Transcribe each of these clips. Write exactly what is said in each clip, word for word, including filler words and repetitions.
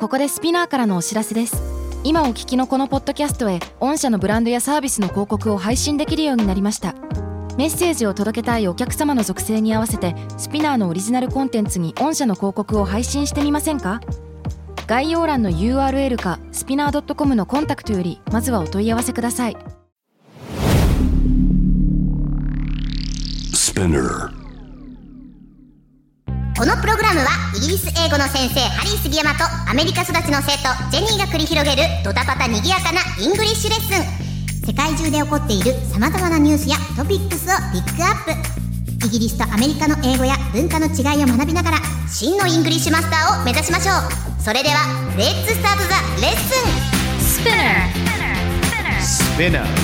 ここでスピナーからのお知らせです。今お聞きのこのポッドキャストへ御社のブランドやサービスの広告を配信できるようになりました。メッセージを届けたいお客様の属性に合わせてスピナーのオリジナルコンテンツに御社の広告を配信してみませんか？概要欄の ユーアールエル かスピナー ドットコム のコンタクトよりまずはお問い合わせください。 スピナー。 このプログラムはイギリス英語の先生ハリー杉山とアメリカ育ちの生徒ジェニーが繰り広げるドタパタにぎやかなイングリッシュレッスン。世界中で起こっている様々なニュースやトピックスをピックアップ。イギリスとアメリカの英語や文化の違いを学びながら真のイングリッシュマスターを目指しましょう。それではレッツスタートザレッスン。スピナースピナー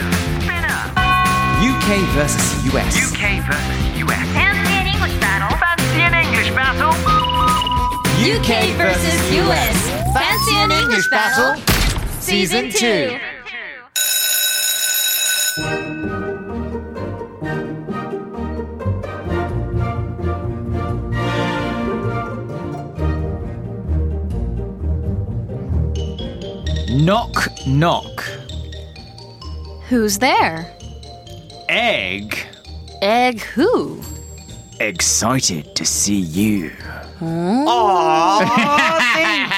ユーケー vs ユーエス ユーケー vs ユーエス Fancy an English battle Fancy an English battle ユーケー vs ユーエス Fancy an English battle Season two Knock knock Who's there? Egg Egg who? Excited to see you Aww, thank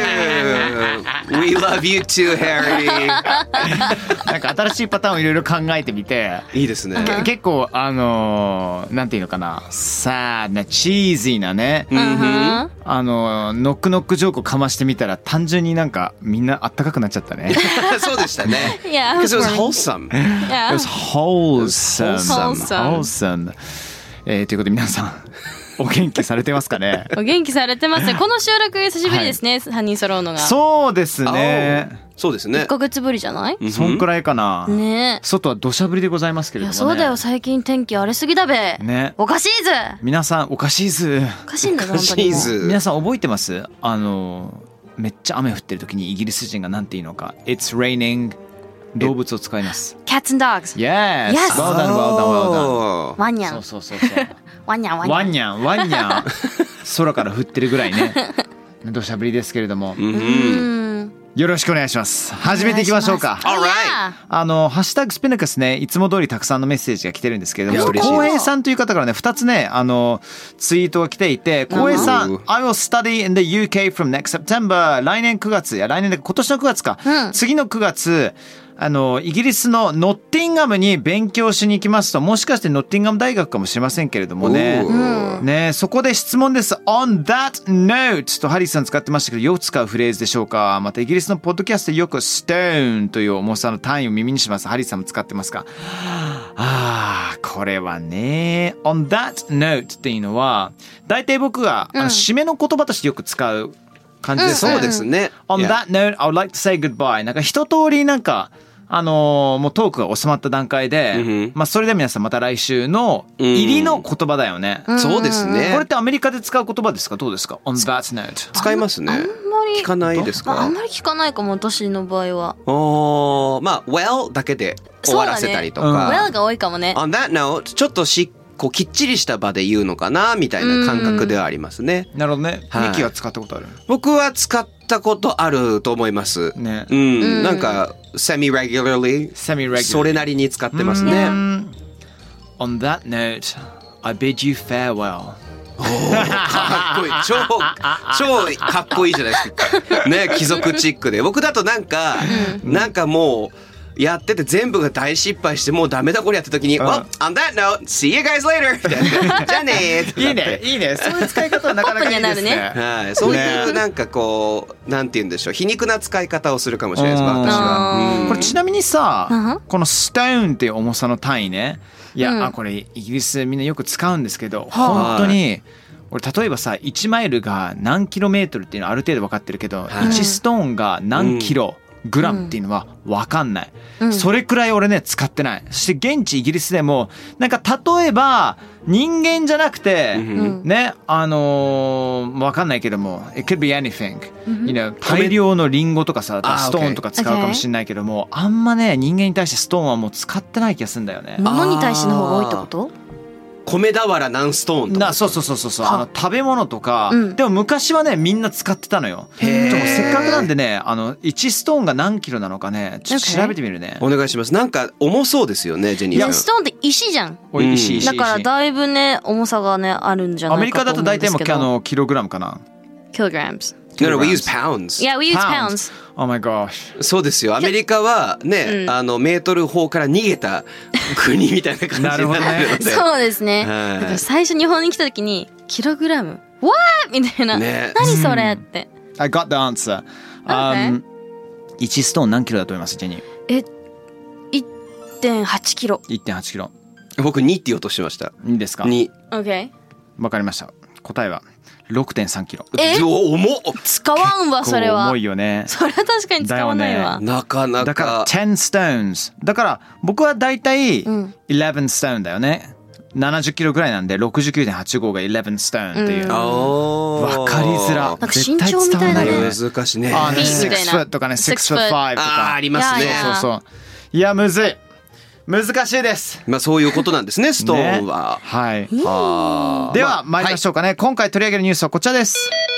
you. We love you too, Harry. なんか新しいパターンをいろいろ考えてみていいですね。 結構あのー、なんていうのかなさあなチーズィーなね、 Uh-huh. あのー、ノックノックジョークをかましてみたら単純になんかみんなあったかくなっちゃったねそうでしたね。 Yeah, Because it was wholesome. Yeah. It was wholesome Wholesome. Wholesome、えー、ということで皆さんお元気されてますかねお元気されてますね。この収録久しぶりですね、さんにん揃うのが。 そうですねそうですね。 いっかげつぶりじゃない？ そんくらいかな、 ねえ。 外は土砂降りでございますけれどもね。 いやそうだよ、最近天気荒れすぎだべ。 ね、 おかしいず。 皆さんおかしいずおかしいんだぞ本当シにもう。 ーズ皆さん覚えてます？あのめっちゃ雨降ってる時にイギリス人がなんて言うのか It's raining 動物を使います。 Cats and dogs。 Yes! Yes! Well done, well done, well done. ワンニャン。 そうそうそうそうワンニャンワンニャン。 ワンニャンワンニャン空から降ってるぐらいね土砂降りですけれども、 うーん。 よろしくお願いします。始めていきましょうか。 Alright. あのハッシュタグスピナカスね、いつも通りたくさんのメッセージが来てるんですけれども、 いや嬉しい浩平さんという方からねふたつねあのツイートが来ていて、浩平さん、 うん I will study in the ユーケーfrom next September。 来年くがつ、いや来年で今年のくがつか、 うん次のくがつあのイギリスのノッティンガムに勉強しに行きますと、もしかしてノッティンガム大学かもしれませんけれどもね、 おーね、そこで質問です。 On that note とハリーさん使ってましたけど、よく使うフレーズでしょうか。またイギリスのポッドキャストでよく stone という重さの単位を耳にします。ハリーさんも使ってますか？あーこれはね On that note っていうのは大体僕が、あの締めの言葉としてよく使う感じですね、 そうですね。 On Yeah. that note, I would like to say goodbye。 なんか一通りなんかあのーもうトークが収まった段階で、 うんまあそれで皆さんまた来週の入りの言葉だよね、 そうですね。 これってアメリカで使う言葉ですか？どうですか？ On that note。 使いますね。 あんまり聞かないですまあ、あか？ んまり聞かないかも私の場合は。 おーまあ well だけで終わらせたりとそうだねか。 Well が多いかもね。 On that note ちょっとしこうきっちりした場で言うのかなみたいな感覚ではありますね。 なるほどね。 はいミキは使ったことある？ 僕は使ったことあると思います。 ね。 うん、なんか semi regularly Semi-regular それなりに使ってますね。 うん On that note, I bid you farewell。 かっこいい。超超かっこいいじゃないですか。ね、貴族チックで。僕だとなんか、なんかもうやってて全部が大失敗してもうダメだこれやった時に、 ん Well, on that note, see you guys later みたいな。じゃあねーっていいね、いいね。そういう使い方はなかなかいいですね。 はい、そういうなんかこうなんて言うんでしょう、皮肉な使い方をするかもしれないです私は。うんこれちなみにさ、 うんこのストーンっていう重さの単位ね、いや、 うんあこれイギリスみんなよく使うんですけど、本当に俺例えばさいちマイルが何キロメートルっていうのはある程度分かってるけど、 はいいちストーンが何キログラムっていうのは分かんない、 うんそれくらい俺ね使ってない。そして現地イギリスでもなんか例えば人間じゃなくて、 うんね、あのー、分かんないけども It could be anything、you know、大量のリンゴとかさあストーンとか使うかもしれないけども、あんまね人間に対してストーンはもう使ってない気がするんだよね。 物に対しての方が多いってこと？ 米俵何ストーンとか。 なそうそうそうそうそうあの食べ物とか、 うん、 でも昔はねみんな使ってたのよ。 へー。 でもせっかくなんでねあのいちストーンが何キロなのかねちょっと調べてみるね。 お願いします。なんか重そうですよねジェニーさん。 ストーンって石じゃん。 おい石石だからだいぶね重さがねあるんじゃないかと思うんですけど。 アメリカだと大体もうあのキログラムかな。 kilograms No, no, we use pounds. Yeah, we use pounds. Oh my gosh. そうですよ。アメリカはね、うん、あのメートル法から逃げた国みたいな感じになるので。 なるほどね。 そうですね。はい、だから最初日本に来た時にキログラム What? みたいな、ね、何それって。 I got the answer. Um, いちストーン何キロだと思いますジェニー？ え、いってんはちキロ。 いってんはちキロ。 僕にって言おうとしてました。 いいですか？ に。 Okay. わかりました。答えはろくてんさんキロ。 え？ 重っ。 使わんわそれは。 重いよね。 それは確かに使わないわ。 ね、なかなか。 だからじゅう stones。だから僕はだいたいじゅういち stone だよね。ななじゅっキロぐらいなんで ろくじゅうきゅうてんはちご がじゅういち stone っていう。わ、うん、かりづら。 なんか身長みたいなね。 難しいね。 あ、ね、ろくフットとかね、ろくフットごとか。 あ、ありますね。 そうそう。いやむずい。難しいです。 まあそういうことなんですね、ストーンは。 ね、はい。はでは参りましょうかね、はい。今回取り上げるニュースはこちらです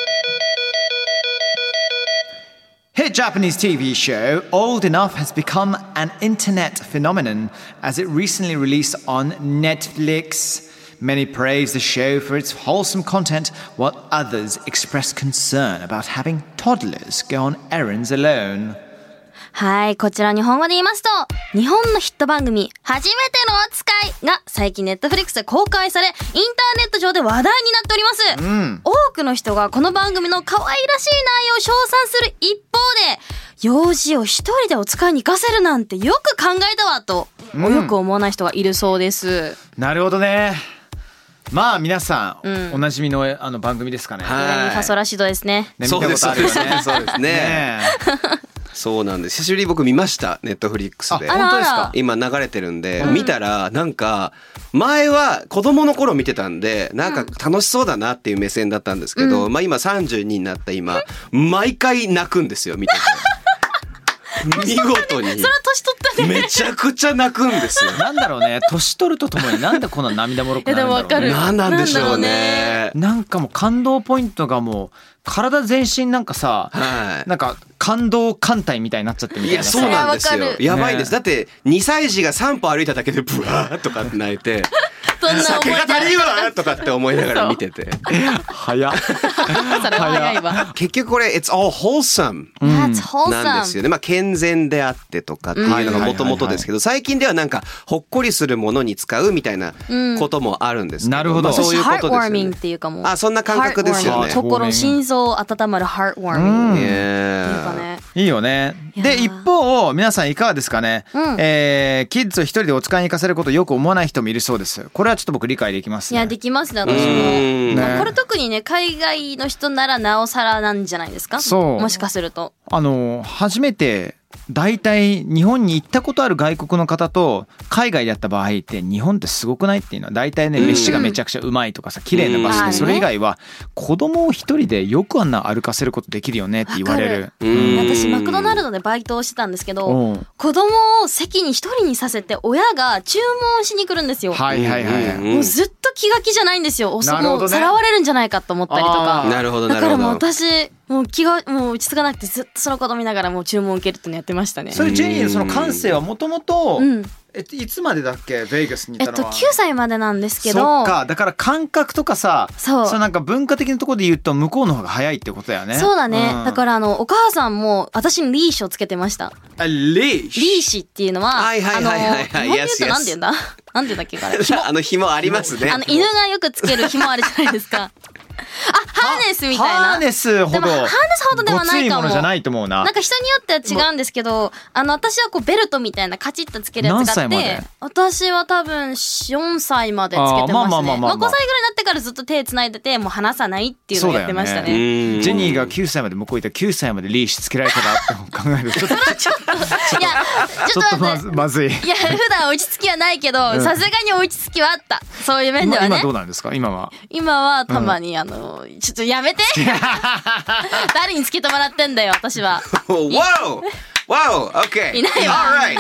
。Hit Japanese T V show Old Enough has become an internet phenomenon as it recently released on Netflix. Many praise the show for its wholesome content, while others express concern about having toddlers go on errands alone. はい、こちら日本語で言いますと、日本のヒット番組初めての扱いが最近ネットフリックスで公開され、インターネット上で話題になっております、うん、多くの人がこの番組の可愛らしい内容を称賛する一方で、幼児を一人でお使いに行かせるなんてよく考えたわと、うん、よく思わない人がいるそうです。 なるほどね。まあ皆さん、うん、おなじみのあの番組ですかね。 はい、ファソラシドですね。 ね、そうですね。そうですね。そうなんです。久しぶりに僕見ましたネットフリックスで。 本当ですか？ 今流れてるんで、うん、見たらなんか前は子供の頃見てたんでなんか楽しそうだなっていう目線だったんですけど、うん、まあ今さんじゅうにになった今毎回泣くんですよ見てて。見事に。 それは年取ったね。 めちゃくちゃ泣くんですよ。 なんだろうね。年取るとともになんでこんな涙もろくなるんだろうね。 いやでもわかる。 なんなんでしょうね。 なんかもう感動ポイントがもう体全身なんかさ、はい、なんか感動艦隊みたいになっちゃってみたいな。いやそうなんですよ。やばいです。だってにさい児がさん歩歩いただけでブワーとかって泣いて。 そんな酒が足りんわとかって思いながら見てて。 早っ。 それは早いわ。 結局これ It's all wholesome なんですよね。まあ健全であってとかっていうのがもともとですけど、最近ではなんかほっこりするものに使うみたいなこともあるんですけど。 なるほど。 そういうことですよね。 ハートワーミングっていうかも。 あ、そんな感覚ですよね。 心心臓温まるハートワーミングっていうかね。 いいよね。で一方皆さんいかがですかね。えー、キッズを一人でお使いに行かせることをよく思わない人もいるそうです。これはちょっと僕理解できますね。 いやできますね私も、ね、これ特にね海外の人ならなおさらなんじゃないですか。そうもしかするとあの初めて大体日本に行ったことある外国の方と海外でやった場合って日本ってすごくないっていうのは大体ね飯がめちゃくちゃうまいとかさ綺麗な場所で、それ以外は子供を一人でよくあんな歩かせることできるよねって言われる。 私マクドナルドでバイトをしてたんですけど、子供を席に一人にさせて親が注文しに来るんですよ。 はいはいはい、 もうずっと気が気じゃないんですよ。おそもうさらわれるんじゃないかと思ったりとか。 なるほどなるほど。 だからもう私もう気がもう落ち着かなくてずっとその子供見ながらもう注文を受けるってのやってましたね。 それジェニーのその感性はもともといつまでだっけベイガスにいたのは。 えっときゅうさいまでなんですけど。 そっか、だから感覚とかさ、そうそうなんか文化的なところで言うと向こうの方が早いってことだよね。 そうだね、うん、だからあのお母さんも私にリーシュをつけてました。 あリーシュリーシュっていうのははいはいはいはいはい、 あの日本で言うとなんて言うんだなんて言うんだっけあれあの紐ありますね。 あの犬がよくつける紐あるじゃないですか。あ、ハーネスみたいな。 ハーネスほど。 でもハーネスほどではないかも。 ごついものじゃないと思うな。 なんか人によっては違うんですけど、あの私はこうベルトみたいなカチッとつけるやつがあって、私は多分よんさいまでつけてましたね。まあまあまあまあ、まあ、ごさいぐらいになってからずっと手つないでてもう離さないっていうのをやってましたね。 ねジェニーがきゅうさいまで向こう行ったらきゅうさいまでリーシュつけられたらって考えるとちょっとちょっといやちょっとまずまずい。 いや普段落ち着きはないけどさすがに落ち着きはあった。そういう面ではね。 今どうなんですか今は。 今はたまに、うん、あのちょっとやめて誰につけてもらってんだよ私は。 Wow! Wow, okay. いないわ Alright.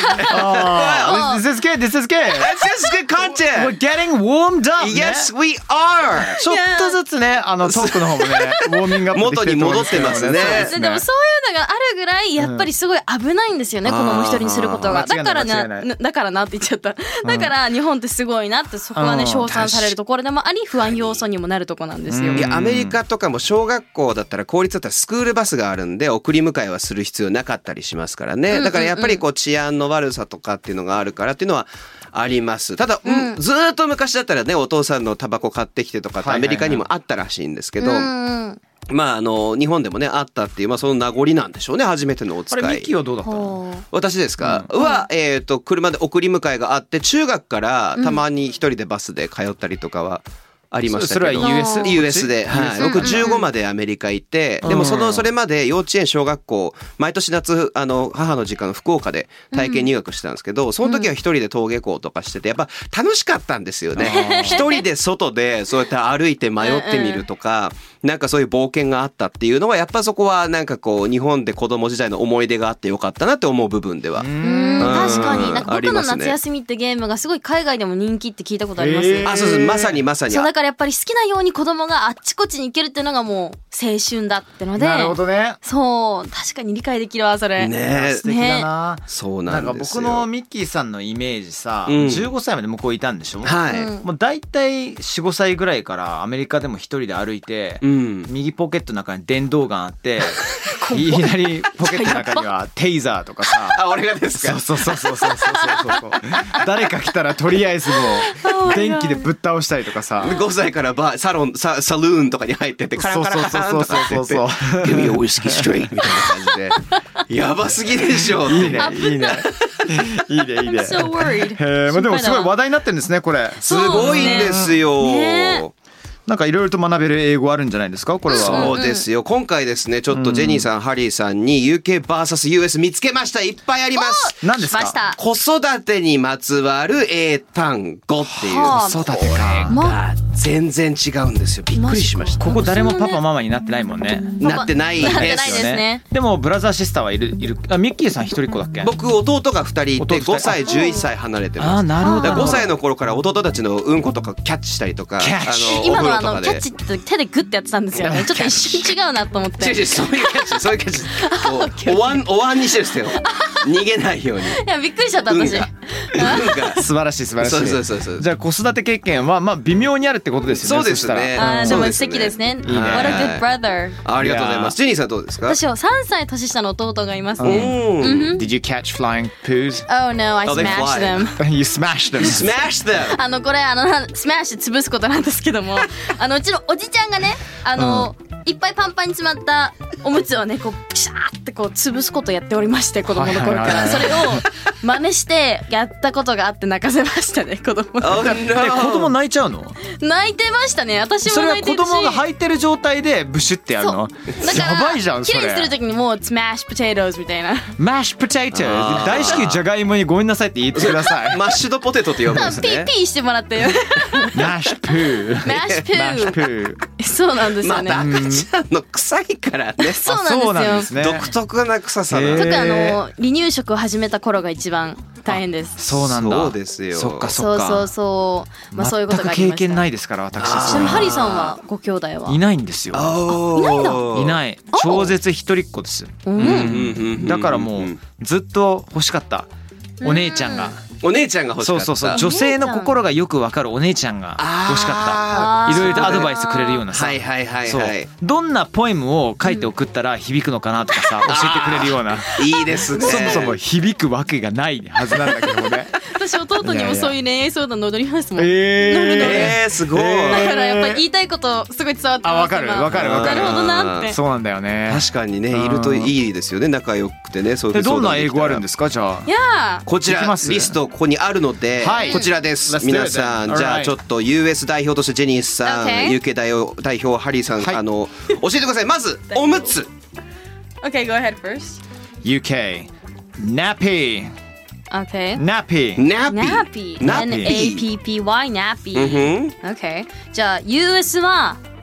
Oh, this is good. This is good. That's just good We're content. getting warmed up. Yes, ね we are. ちょっとずつね、あのトークの方もね、ウォーミングアップできてると思うんですけど元に戻ってますねそうですででもそういうのがあるぐらいやっぱりすごい危ないんですよね、子供一人にすることが。 あーだから間違いない間違いななだからなって言っちゃった。だから日本ってすごいなってそこはねうん称賛されるところでもあり不安要素にもなるところなんですよ。 いやアメリカとかも小学校だったら公立だったらスクールバスがあるんで送り迎えはする必要なかったりしますからね。だからやっぱりこう治安の悪さとかっていうのがあるからっていうのはあります。ただ、うんずーっと昔だったらねお父さんのタバコ買ってきてとかってアメリカにもあったらしいんですけど、 うんまああの日本でもねあったっていうまあその名残なんでしょうね。初めてのお使あれミッい。 キーはどうだったの？ ほう私ですか、は、えっ、と、車で送り迎えがあって、中学からたまに一人でバスで通ったりとかはありましたけど。 それは ユーエス？ ユーエス で。はい。僕じゅうごまでアメリカ行って、でもその、それまで幼稚園、小学校、毎年夏、あの、母の実家の福岡で体験入学してたんですけど、その時は一人で登下校とかしてて、やっぱ楽しかったんですよね。一人で外でそうやって歩いて迷ってみるとか、なんかそういう冒険があったっていうのは、やっぱそこはなんかこう、日本で子供時代の思い出があってよかったなって思う部分では。 うん確かになんか僕のありますね夏休みってゲームがすごい海外でも人気って聞いたことあります、 へーあ、そうそう、まさにまさに。 そうだからやっぱり好きなように子供があっちこっちに行けるっていうのがもう青春だってのでなるほどね。 そう確かに理解できるわそれね素敵だな。 そうなかなんんですよ。 僕のミッキーさんのイメージさ、 うんじゅうごさいまで向こういたんでしょ？ はい。 うんもう大体よん、ごさいぐらいからアメリカでも一人で歩いて、 うん。 右ポケットの中に電動ガンあっていきなりポケットの中にはテイザーとかさあ、俺がですか。 そうそうそうそうそうそうそう誰か来たらとりあえずもう電気でぶっ倒したりとかさごさいからバーサロンササルーンとかに入ってってカランカランカランとかって言ってそうそうそうそう Give me a whiskey straight みたいな感じでやばすぎでしょっていいねいいねいいねいいね I'm so worried へえ、まあ、でもすごい話題になってるんですねこれ。 すごいんですよ。 ねなんかいろいろと学べる英語あるんじゃないですかこれは。 そうですよ。今回ですね、ちょっとジェニーさん、ハリーさんに ユーケーブイエスユーエス 見つけました。いっぱいあります。 何ですか？ しました子育てにまつわる英単語っていう。 はあ子育てか。 ま全然違うんですよ。びっくりしました。 ここ誰もパパママになってないもんね。 なってないなってないでですすねでもブラザーシスターはいるいる。あミッキーさん一人っ子だっけ？ 僕、弟がふたりいて、 弟二人ごさい、じゅういっさい離れてあます。 ーなるほど。 だからごさいの頃から弟たちのうんことかキャッチしたりとか、 キャッチあの今のあお風呂とかでのキャッチって手でグッてやってたんですよねちょっと一瞬違うなと思って違う違う、そういうキャッチ、そういうキャッチ。こうお椀、お椀にしてるんですよ。逃げないように。 いやびっくりしちゃった私運が。運が。 素晴らしい素晴らしい。 そうそうそうそうじゃあ子育て経験はまあ微妙にあるってことですよね。 そうですねそしたらあーでもそうですね素敵ですねいいね What a good brother ありがとうございます。ジェニーさんどうですか？ 私はさんさい年下の弟がいますうねん。 Did you catch flying poos? Oh no I Oh, they smashed fly. them You smashed them. Smash them! あのこれあのなスマッシュ潰すことなんですけどもあのうちのおじちゃんがねあの、いっぱいパンパンに詰まったおむつをねこうピシャーってこう潰すことをやっておりまして子供の頃かはいはいはいらそれを真似してやったことがあって泣かせましたね子供の Oh 頃 no! え子供泣いちゃうの？ 泣いてましたね私それは子も泣いてるし供が履いてる状態でブシュってやるの？ だからやばいじゃんそれ。 綺麗にするときにもうスマッシュポテトみたいなマッシュポテトあー大至急じゃがいもにごめんなさいって言ってください。 マッシュドポテトって呼ぶんですピーね。 ピーしてもらってマッシュプー。 マッシュプーマッシュプー。 そうなんですまよね、 あ赤ちゃんの臭いからね。 そうなんですよそうなんですね。 独特な臭さへーだ。 特にあの離乳食を始めた頃が一番大変ですそうなんだ。 そうですよそっかそっか。 そうそうそうまあそういうことがあり全ましたく経験ないですから私。 あーちなみにハリーさんはご兄弟はいないんですよ。 いないんだいない。超絶一人っ子です。 うんだからもうずっと欲しかったお姉ちゃんが。 お姉ちゃんが欲しかった。 そうそうそう。女性の心がよくわかるお姉ちゃんが欲しかあった。いろいろとアドバイイスくれるようなさ。 はいはいはいそうはい。 どんなポエムを書いて送ったら響くのかなとかさ教えてくれるような。 いいですね。 そもそも響くわけがないはずなんだけどもね。 私弟にもそういう恋愛相談乗りますもんえ乗る乗るえー、すごい。 だからやっぱり言いたいことすごい伝わってますあわかる今わかるわかるなるほどなってそうなんだよね。 確かにね、いるといいですよね。仲良くてね、そういうでどんな英語あるんでですかじゃあい。やこちらいきますリストここにあるので、 はいこちらです。 Let's do it 皆さん then. じゃあ Alright. ちょっと ユーエス 代表としてジェニーさん、 Okay. ユーケー 代表代表ハリーさん、 はいあの教えてください。まずおむつ。 Okay go ahead first ユーケー nappy Okay nappy ナピナピナ N ピ A P P Y ナピうんふん Okay じゃあ ユーエス は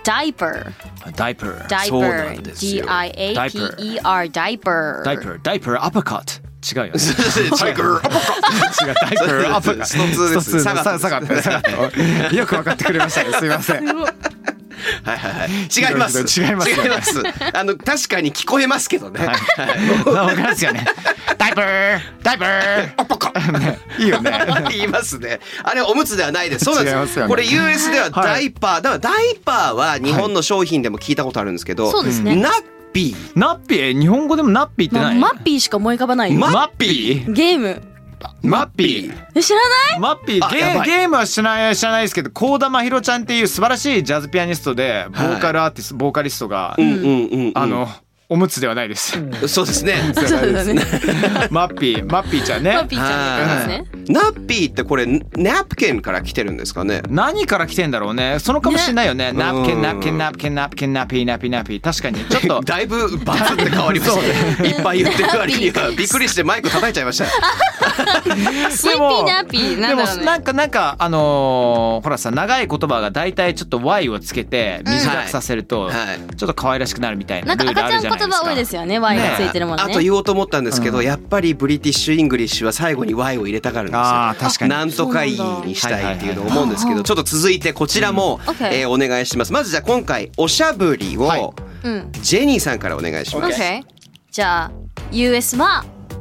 diaper diaper そうな diaper んですよ D I A P E R diaper diaper diaper アッパーカット違うよねタイガーアッパーカッ違うダイパーアッパーカットストツーですストツーのサガサガットサガットよく分かってくれましたねすいませんはいはいはい違います違いますよね違いますあの確かに聞こえますけどね、はいわかりますよねダイパーダイパーアッパーカットねいいよね言いますね。あれおむつではないです。そうなんです。 違いますよねこれ ユーエス ではダイパー、だからダイパーは日本の商品でも聞いたことあるんですけど、 そうですねナッピー、 ナッピー日本語でもナッピーってま何マッピーしか思い浮かばないよママッピーゲームマッピーえ知らないマッピーゲあやばいーゲームは知らない知らないですけど幸田真宏ちゃんっていう素晴らしいジャズピアニストでボーカルアーティスト、ボーカリストが、 うんうんうんうん、 あのおむつではないですそうですね。 そうだねマッピーマッピーちゃんねマッピーちゃんですねナッピーってこれナプキンから来てるんですかね。 何から来てんだろうねそのかもしれないよねナプキうんンナプキンナプキンナプキンナピーナピーナピー確かにちょっとだいぶバツって変わりましたね。いっぱい言ってる割にはびっくりしてマイク叩いちゃいました。 スイーピーナッピーなでもんだろうねなんかなんかあのーほらさ長い言葉が大体ちょっと Y をつけて短くさせるとはいはいちょっと可愛らしくなるみたいななんルールあか赤ちゃんるじゃないですか言葉多いですよね Y がついてるもんねあと言おうと思ったんですけど、 うんやっぱりブリティッシュイングリッシュは最後に Y を入れたがるんですよ。 あー確かになんとかいいにしたいっていうのを思うんですけど、ちょっと続いてこちらも、 うん OK えーお願いします。まずじゃあ今回おしゃぶりを、 はいうんジェニーさんからお願いします。 OK じゃあ ユーエス は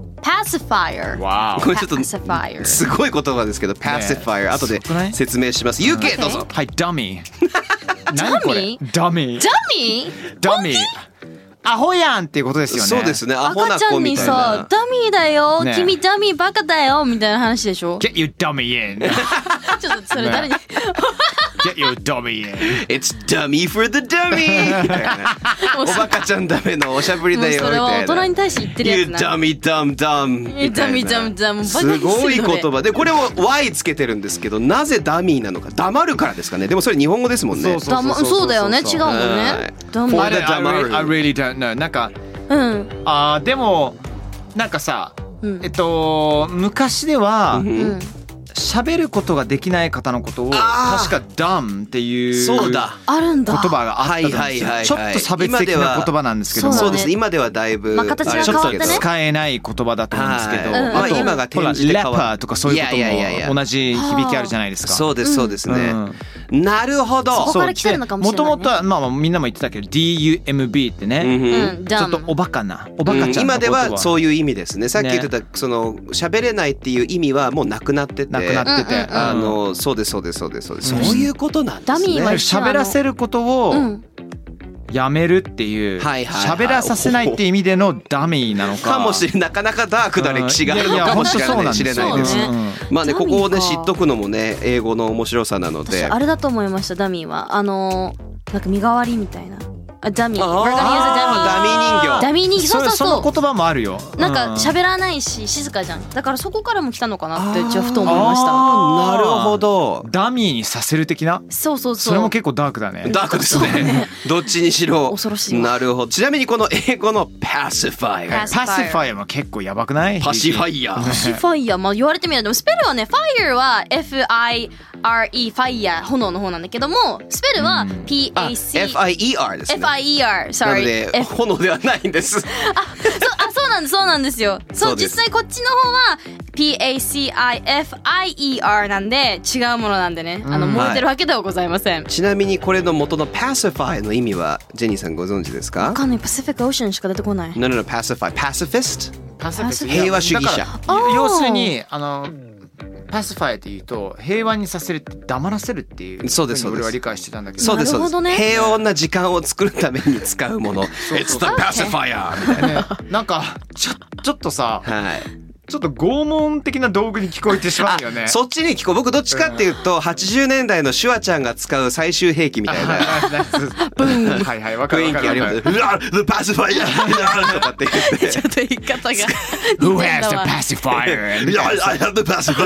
pacifier わこれちょっと pacifier すごい言葉ですけど、pacifier 後ですごくない説明します。ユーケ OK どうぞ。 はいダミー何これダミージャミーダミーアホやんっていうことですよねそうですね。アホな赤ちゃんに子みたいな。 さダミーだよ、 ね君ダミーバカだよみたいな話でしょ Get your dummy in ちょっとそれ誰に、 Get your dummy in It's dummy for the dummy みたいな。おバカちゃんダメのおしゃぶりもうだよみそれは大たいな。 人に対して言ってるや You つな dummy dumb dumb みたいな。 dummy dumb dumb すごい言葉で、これを Y つけてるんですけど、なぜダミーなのか。黙るからですかね。でもそれ日本語ですもんね。 そうそうだまそうだよね違うもんはいねダミこあれーれ I really, I really don't know なんかうんあーでもなんかさ、 うんえっと昔ではうんうん喋ることができない方のことをあー確か dumb っていうそうだ。 あるんだ言葉があったと思うんですよはいはいはいはいちょっと差別的な言葉なんですけども今ではそうですね。今ではだいぶ、 まあ形があれちょっと変わってね使えない言葉だと思うんですけど、 はいうんまああと今が転ほらじて変わラッパーとかそういうこといやいやいやいやも同じ響きあるじゃないですか。 そうですそうですね。 うんなるほど。 そこから来てるのかもしれないねもともとはまあまあみんなも言ってたけど ディーユーエムビー ってね、 うんうんうんちょっとおバカなおバカちゃんのこと今ではそういいう意味ですね。さっき言ってたその喋れないっていう意味はもうなくなってて、 なくなってて、 うんうんうんあのそうですそうですそうですそうです。そういうことなんですね。 ダミーは喋らせることをうんやめるっていうはいはいはい喋らさせないって意味でのダミーなのかかもしれない。なかなかダークな歴史があるのかもしれない知れないです。 そうねまあね、ここをねダミーか知っとくのもね英語の面白さなの私で。 あれだと思いましたダミーはあのーなんか身代わりみたいなあダミー We're あー gonna use a ダミー人形。 ダミー人形そうそうそそうの言葉もあるよ。 なんかうん喋らないし静かじゃんだからそこからも来たのかなってうちはふと思いましたあーなるほど。 ダミーにさせる的な。 そうそうそうそれも結構ダークだね。 ダークですね。どっちにしろ。 恐ろしいわなるほど。ちなみにこの英語の pacifier。 パパシファイアも結構やばくない？ パシファイヤー。 シファイヤーまあ言われてみればでもスペルはね Fire は エフアイアールイー ファイヤー炎の方なんだけどもスペルは ピーエーシーエフアイイーアール ですね。 エフアイイーアールな sorry ので F 炎ではないんです。 そうあそうなんですそうなんですよそうそうです実際こっちの方は ピーエーシーアイエフアイイーアール なんで違うものなんでねあの燃えてるわけではございませんちなみにこれの元の pacify の意味はジェニーさんご存知ですかわ？かんないパシフィックオーシャンしか出てこない No no no pacify pacifist パシフィック平和主義者だから要するにあのパシファイっていうと平和にさせるって黙らせるっていうそうですふうに俺はそうです理解してたんだけどそうですそうです、 なるほどね平穏な時間を作るために使うもの It's the pacifier みたいな。 ねなんかちょちょっとさはいちょっと拷問的な道具に聞こえてしまうよね。 そっちに聞こう。僕どっちかっていうとはちじゅうねんだいのシュワちゃんが使う最終兵器みたいなはいはいわかる雰囲わかるわ気あります。 かる。 うわ The pacifier とかって言ってちょっと言い方が Who has the pacifier? いや I have the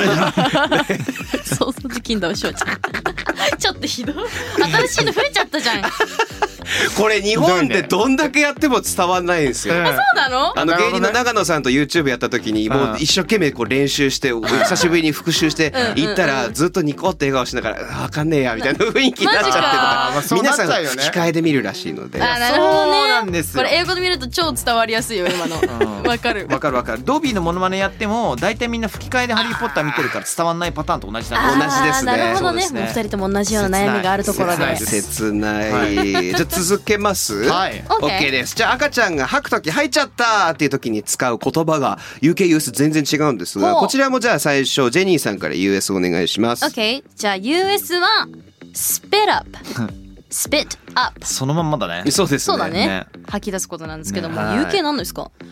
pacifier そうそう時金だわしょうちゃんちょっとひどい新しいの増えちゃったじゃんそうこれ日本でどんだけやっても伝わんないんですよ。 うんなのあの芸人の長野さんと YouTube やった時にもうう一生懸命こう練習して久しぶりに復習して行ったらずっとニコって笑顔しながらわかんねえやみたいな雰囲気になっちゃってとか皆さん吹き替えで見るらしいので。 あ、なるほどね。 そうなんですよ。 これ英語で見ると超伝わりやすいよ今の。わかる。 わかるわかる。ドビーのモノマネやっても大体みんな吹き替えでハリーポッター見てるから伝わんないパターンと同じなん同じですね。 なるほどね。 そうですねもう二人とも同じような悩みがあるところで。 切ない。じゃあ続けます。 はい。 OK です。じゃあ赤ちゃんが吐くとき吐いちゃったっていうときに使う言葉が ユーケー ユーエス 全然違うんですが、こちらもじゃあ最初ジェニーさんから ユーエス お願いします。 OK。じゃあ ユーエス は spit up。spit up。 そのまんまだね。 そうですね。 そうだね。 ね吐き出すことなんですけども、 ね、 ユーケー 何ですか？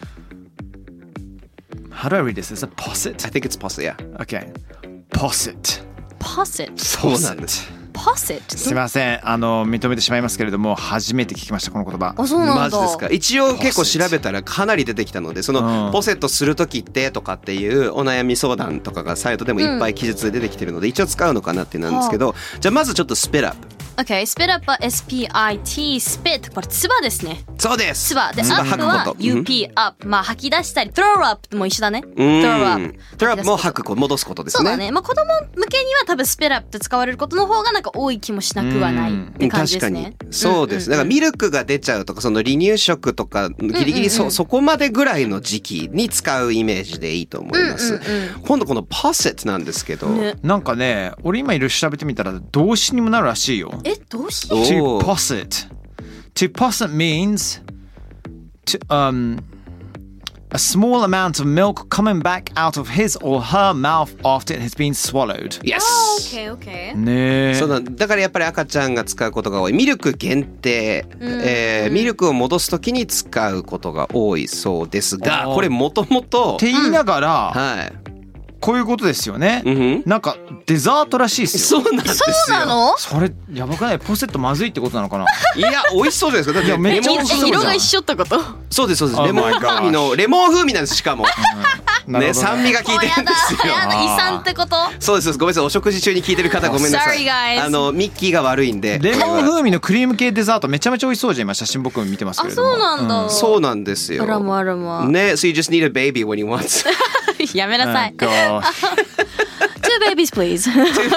How do I read this? Is it posset? I think it's posset, yeah. Okay. Posset. posset。 そうなんです。 posset。 すいません、あの認めてしまいますけれども初めて聞きましたこの言葉。 あ、そうなんだ。 マジですか。一応結構調べたらかなり出てきたので、その、 うん、 ポセットする時ってとかっていうお悩み相談とかがサイトでもいっぱい記述で出てきてるので、うん、一応使うのかなってなんですけど、じゃあまずちょっとスペラップ。 Okay, spit up は エスピーアイティーspit。これつばですね。 そうです。 つばで、 つば up 吐くはこと。 ユーピー up。まあ吐き出したり throw up も一緒だね。 うん。 throw up。 throw up も吐くこと戻すことですね。 そうだね。まあ子供向けには多分 spit up って使われることの方がなんか多い気もしなくはないって感じですね。 確かにそうです。だからミルクが出ちゃうとかその離乳食とかギリギリ そ,、うんうんうん、そこまでぐらいの時期に使うイメージでいいと思います。うんうんうん、今度この posset なんですけど、ね、 なんかね、俺今いろいろ調べてみたら動詞にもなるらしいよ。 え、動詞 ？To posset. To posset means to, um, a small amount of milk coming back out of his or her mouth after it has been swallowed. Yes. Okay, okay. ねえ。 そうだ。だからやっぱり赤ちゃんが使うことが多い。ミルク限定、えー、ミルクを戻すときに使うことが多いそうですが、これもともとって言いながら、 はい。 こういうことですよね、うん、なんかデザートらしいですよ。そうなんですよ。 そうなの？ それやばくない？ポセットまずいってことなのかな？ いや美味しそうじゃないですか。だってめっちゃ美味しそうじゃん。 色が一緒ってこと？ そうですそうです。レモン風味のレモン風味なんです。しかも、うん、ね、酸味が効いてるんですよ。 やだ、胃酸ってこと？ そうです。ごめんなさい。お食事中に聞いてる方ごめんなさい。 Sorry, あのミッキーが悪いんで。 レモン風味のクリーム系デザートめちゃめちゃ美味しそうじゃん。今写真僕も見てますけれども。 あ、そうなんだ。 うん、そうなんですよ。 あらまあらま。 ね、so you just need a baby when you want. やめなさい。 Oh, Two babies, please.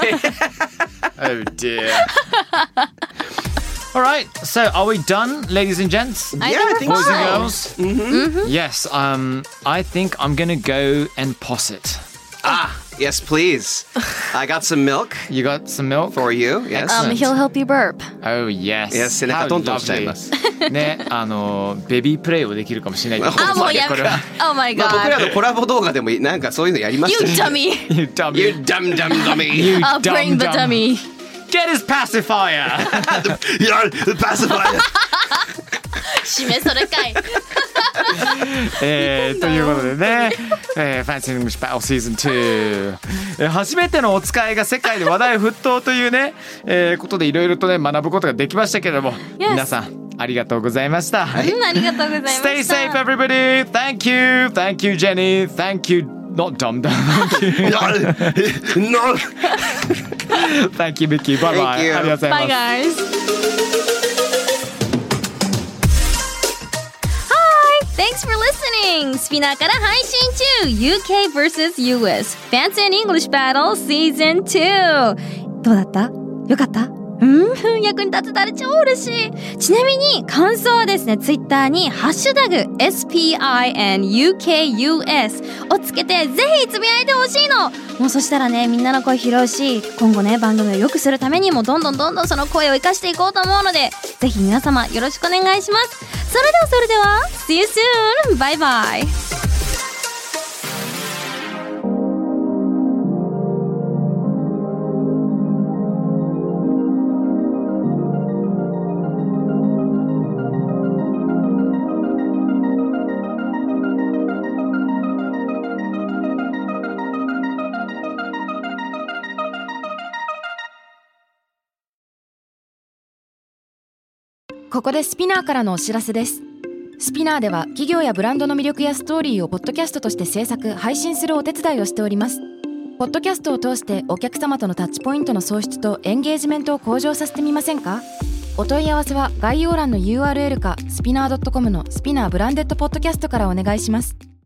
Oh dear. All right, so are we done, ladies and gents? Yeah, I think boys so. and girls. Mm-hmm. Mm-hmm. Yes, um, I think I'm gonna go and posset. Ah, yes, please. I got some milk. You got some milk for you. Yes. Um, he'll help you burp. Oh yes. Yes, 背中トントンしちゃいます。 ね、あのベビープレイをできるかもしれない。 あ、もうやめ。Oh my god. まあ僕らのコラボ動画でもなんかそういうのやりましたね。 You dummy. You dummy. You dumb dumb dummy. You I'll bring the dummy. Get his pacifier. Yeah, the pacifier. 締めそれかい。 えー、ということでね、えー、Fancy English Battle Season ツー、えー、初めてのお使いが世界で話題沸騰というね、えー、ことでいろいろとね学ぶことができましたけれども、 yes. 皆さんありがとうございました。 はい、ありがとうございました。 Stay safe, everybody. Thank you, thank you, Jenny. Thank you, not dumb dumb. No. Thank you, Mickey. Bye bye. ありがとうございます。 Bye, guys.Thanks for listening! スピナーから配信中 ユーケー vs ユーエス Fancy and English Battle Season ツー。どうだった？よかった？うん役に立てたら超嬉しい。ちなみに感想はですね、ツイッターにハッシュタグ エスピアイエヌユーケーユーエス をつけてぜひつぶやいてほしいの。もうそしたらね、みんなの声拾うし、今後ね番組を良くするためにもどんどんどんどんその声を生かしていこうと思うので、ぜひ皆様よろしくお願いします。それではそれでは See you soon! バイバイ。 ここでスピナーからのお知らせです。スピナーでは企業やブランドの魅力やストーリーをポッドキャストとして制作・配信するお手伝いをしております。ポッドキャストを通してお客様とのタッチポイントの創出とエンゲージメントを向上させてみませんか？お問い合わせは概要欄の ユーアールエル かスピナー ドットコム のスピナーブランデッドポッドキャストからお願いします。